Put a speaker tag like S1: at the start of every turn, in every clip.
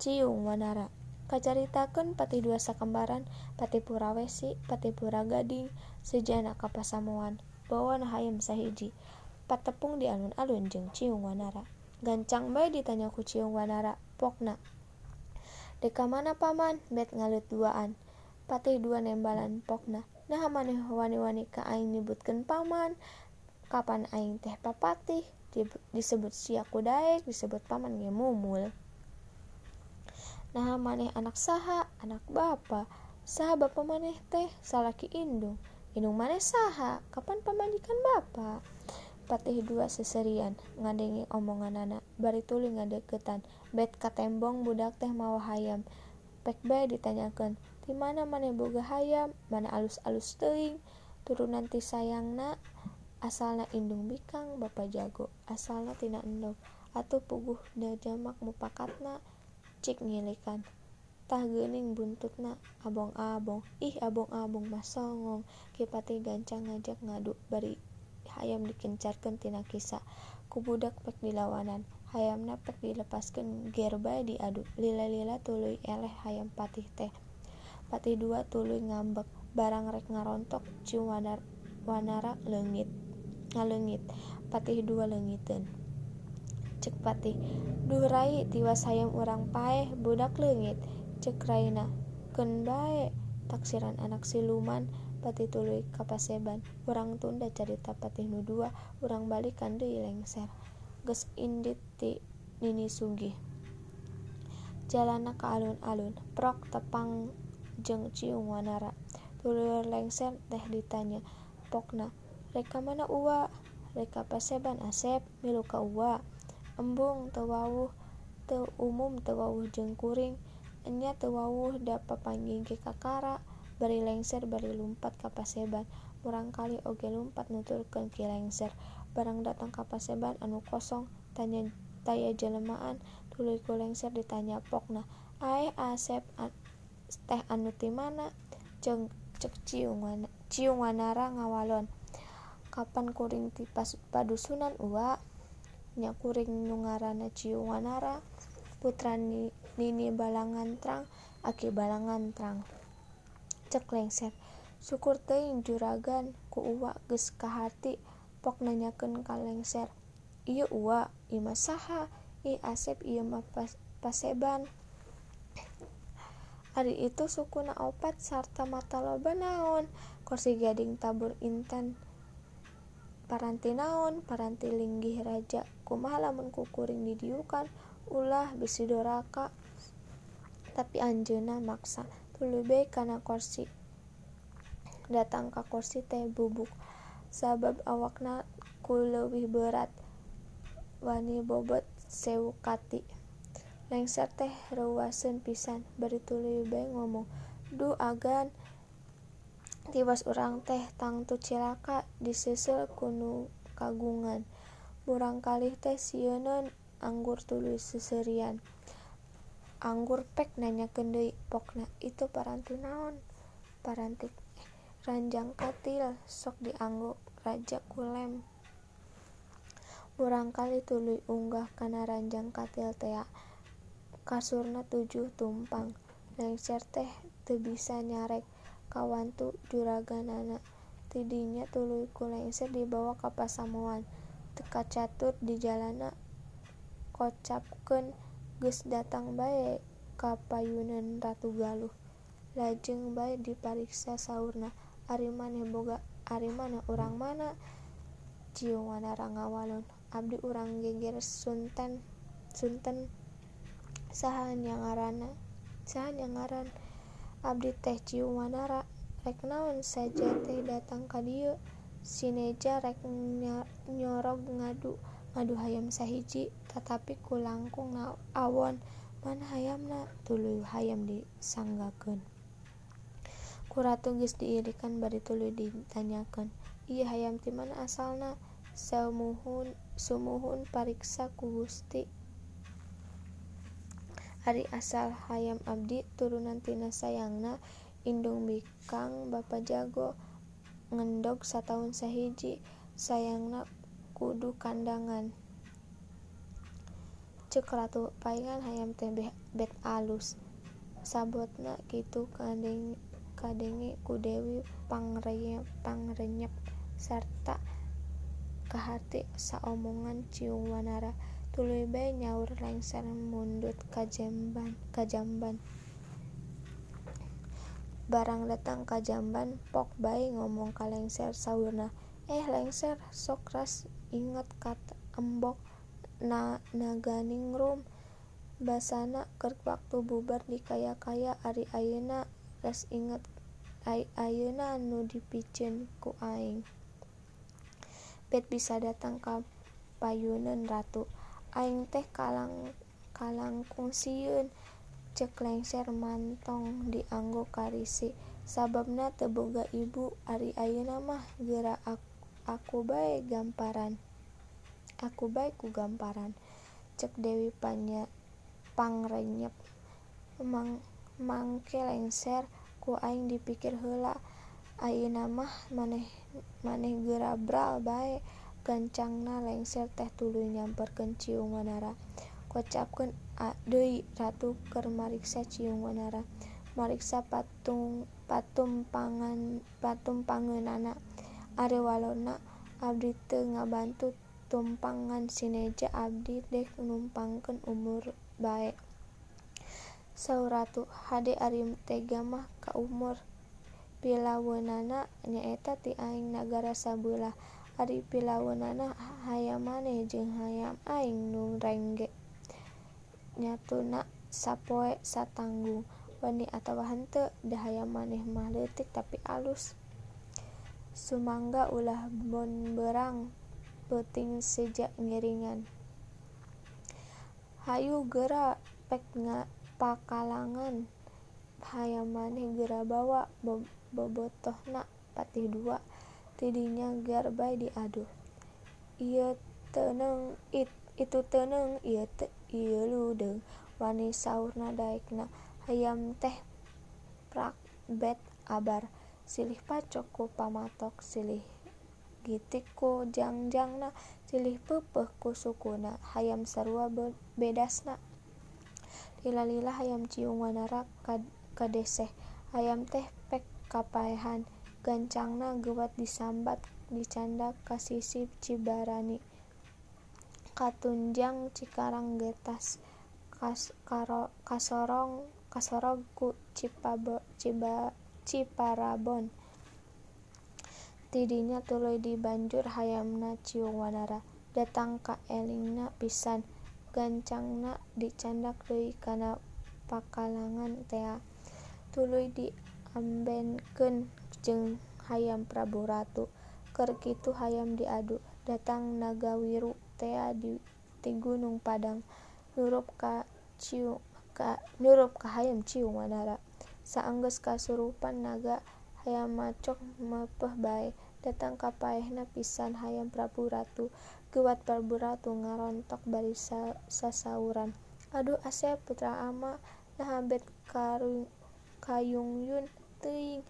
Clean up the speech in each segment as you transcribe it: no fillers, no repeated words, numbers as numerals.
S1: Ciung Wanara. Kacaritakeun pati dua sakembaran, pati Purawesi, pati Puragading, sejana ka pasamuan. Bawana hayam sahiji. Patepung di alun-alun jeung Ciung Wanara. Gancang bae ditanya ku Ciung Wanara, pokna. Deka mana paman? Bet ngalut duaan. Pati dua nembalan pokna. Nah maneh wani-wani ka aing nyebutkeun paman. Kapan aing teh papatih? Disebut sia ku daek, disebut paman ge mumul. Nah maneh anak saha? Anak bapa. Saha bapa maneh teh? Salaki indung. Indung maneh saha? Kapan pamajikan bapa? Patih dua seserian ngadenge omonganana, bari tuluy ngadeuketan. Bet katembong budak teh mawa hayam. Pek bae ditanyakeun, "Ti mana maneh boga hayam? Mana alus-alus teuing?" Turunan ti sayangna, asalna indung bikang bapa jago, asalna tina endog. Atuh puguh da jamak mupakatna, cik ngilikan. Tah geuning buntutna, abong-abong. Ih abong-abong mah songong. Ki Patih gancang ngajak ngadu, bari hayam dikencarkeun tina kisa. Ku budak pek dilawanan, hayamna pek dilepaskeun ger bae diadu. Lila-lila tuluy eleh hayam Patih teh. Patih dua tuluy ngambek, barang rek ngarontok. Ciung Wanara ngaleungit. Patih dua leungiteun. Cek Patih, "Duh Rai, tiwas hayam urang paeh, budak leungit." Cek Raina, "Keun bae, taksiran anak siluman." Patih tuluy kapaseban. Urang tunda carita Patih nu dua, urang balikan deui lengser. Geus indit ti Nini Sugih. Jalanna ka alun-alun, prok tepang jeung Ciung Wanara. Tuluy lengser teh ditanya, pokna, "Rek ka mana Uwa?" "Rek ka paseban Asep, milu ka Uwa." "Embung teu wawuh, teu umum teu wawuh jeung kuring. Enya teu wawuh da papanggih ka Kara." Bari lengser bari lumpat ka paseban. Murangkalih oge lumpat nuturkeun ki lengser. Barang datang ka paseban anu kosong, taya jelemaan, tuluy ku lengser ditanya pokna, "Aeh Asep teh anu ti mana?" Cek Ciung Wanara ngawalon, "Kapan kuring ti padusunan Uwa?" Nya kuring nu ngaranna Ciung Wanara, putra Nini Balangantrang, Aki Balangantrang. Cek lengser, "Syukur teuing juragan, ku Uwa geus kahati." Pok nanyakeun ka lengser, "Ieu Uwa, ieu mah saha?" "Ih Asep, ieu mah paseban. Ari itu sukuna opat sarta mata loba naon?" "Kursi gading tabur inten." "Paranti naon?" "Paranti linggih raja." "Kumaha lamun ku kuring di dieu kan?" "Ulah bisi doraka." Tapi anjeunna maksa, tuluy bae kana kursi. Datang ka kursi teh bubuk, sabab awakna ku leuwih beurat, wani bobot 1000 kati. Lengser teh reuaseun pisan, bari tuluy bae ngomong, "Duh agan, tiwas urang teh tangtu cilaka diseusel ku nu kagungan." Murangkalih teh sieunun anggur tuluy seserian. "Anggur pek?" nanyakeun deui pokna. "Itu paranti naon?" "Paranti ranjang katil, sok dianggo raja kulem." Murangkalih tuluy unggah kana ranjang katil tea. Kasurna 7 tumpang. Lengser teh teu bisa nyarek ka wantu juraganana. Ti dinya tuluy ku lengser dibawa ka pasamuan. Teu kacatur di jalanna kocapkeun geus datang bae ka payuneun Ratu Galuh. Lajeng bae dipariksa saurna, "Ari maneh urang mana?" Ciung Wanara ngawalon, "Abdi urang geger Sunten." Saha nya ngaran?" "Abdi teh Ciung Wanara." "Rek naon saja teh datang ka dieu?" "Si Neja rek nyorog ngadu hayam sahiji, tatapi ku langkung awon." "Mana hayamna?" Tuluy hayam disanggakeun. Ku ratu geus diirikan bari tuluy ditanyakeun, "Ieu hayam ti mana asalna?" "Sumuhun pariksa ku Gusti." "Ari asal hayam abdi turunan tina sayangna, indung bikang bapa jago, ngendog sataun sahiji, sayangna kudu kandangan." Ceuk ratu, paingan hayam teh bet alus. Sabotna kitu kadenge ku Dewi Pangrenyep sarta kahati saomongan Ciung Wanara. Tuluy bae nyaur lengser mundut ka jamban. Barang datang ka jamban, pok bae ngomong ka lengser saurna, lengser sok ras inget kata embok naganingrum. Basana keur waktu bubar di kaya-kaya ari ayeuna ras inget ayeuna nu dipikeun ku aing. Bet bisa datang ka payuneun ratu. Aing teh kalangkung sieun, ceuk lengser mantong dianggo karisi. Sababna teu boga ibu ari ayeuna mah geura aku bae ku gamparan. Ceuk Dewi Pangrenyep. Mangke lengser ku aing dipikir heula. Ayeuna mah maneh geura bral bae. Gancangna lengser teh tuluy nyamperkeun Ciung Wanara. Kocapkeun deui ratu keur mariksa Ciung Wanara. Mariksa patumpangeunana. Are walona abdi teu ngabantu tumpangan sineja abdi dek numpangkeun umur bae. Saur ratu, hade ari tega mah ka umur. Pilaweunana nyaeta ti aing nagara sabeulah. Ari pilaweunana hayam maneh jeung hayam aing nu rengge. Nyatuna sapoe satanggung. Wani atawa henteu, da hayam maneh mah leutik tapi alus. Sumangga ulah bonbeurang peuting seja ngiringan. Hayu geura pek pakalangan. Hayam maneh geura bawa bobotohna patih 2. Tidinya gear bae diadu. Ieu teuneng itu teuneng ieu ludeung, wani saurna daekna. Hayam teh prak bet abar. Silih pacok ku pamatok, silih gitik ku jangjangna, silih peupeuh ku sukuna. Hayam sarua bedasna. Lila-lila hayam Ciung Wanara kadeseh. Hayam teh pek kapaehan. Gancangna geuwat disambat dicandak ka sisi Cibarani. Katunjang Cikarang getas. Kasorog ku Ciparabon. Tidinya tuluy dibanjur hayamna Ciung Wanara. Datang ka elingna pisan. Gancangna dicandak deui kana pakalangan tea. Tuluy diambenkeun jeung hayam Prabu Ratu. Keur kitu hayam diadu. Datang Nagawiru tea ti Gunung Padang. Nurup ka hayam Ciung Wanara. Saenggeus kasurupan naga, hayam macok meupeuh bae. Datang ka paehna pisan hayam Prabu Ratu. Geuwat Prabu Ratu ngarontok bari sasauran. Aduh Asep putra ama, naha bet kayungyun teuing.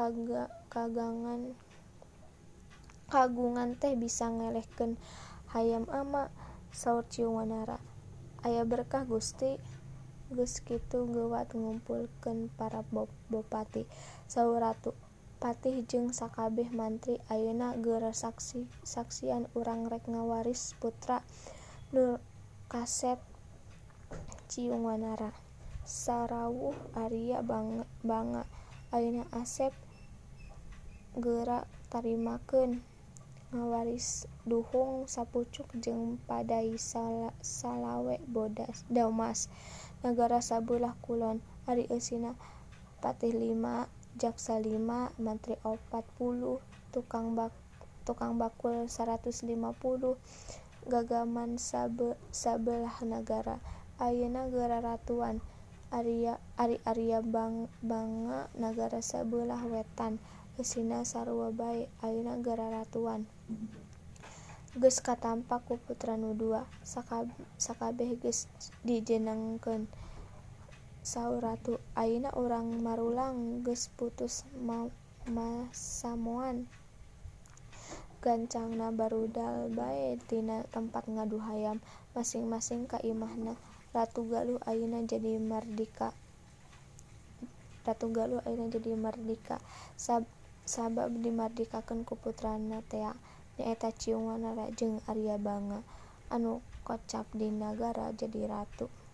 S1: Kagungan teh bisa ngelehkeun hayam ama, saur Ciung Wanara. Aya berkah Gusti. Geus kitu geuwat ngumpulkeun para bopati, saur ratu. Patih jeung sakabeh mantri ayeuna geura saksian urang rek ngawaris putra nu kaset Ciung Wanara. Sarawuh Arya bangga. Ayeuna Asep geura tarimakeun ngawaris duhung sapucuk jeung padai salawe damas. Nagara sabelah kulon. Ari eusina patih 5, jaksa 5, mantri 40, tukang bakul 150, gagaman sabelah nagara. Ayeuna geura ratuan. Ari Arya bangga nagara sabelah wetan. Eusina sarua bae. Ayeuna geura ratuan. Geus katampa ku putra nu 2. Sakabeh geus dijenengkeun, saur ratu. Ayeuna urang marulang geus putus masamoan. gancangna barudal bae tina tempat ngadu hayam masing-masing ka imahna. Ratu Galuh ayeuna jadi mardika sabab dimardikakeun ku putrana Tea nyaeta Ciung Wanara jeung Arya Banga anu kocap di nagara jadi ratu.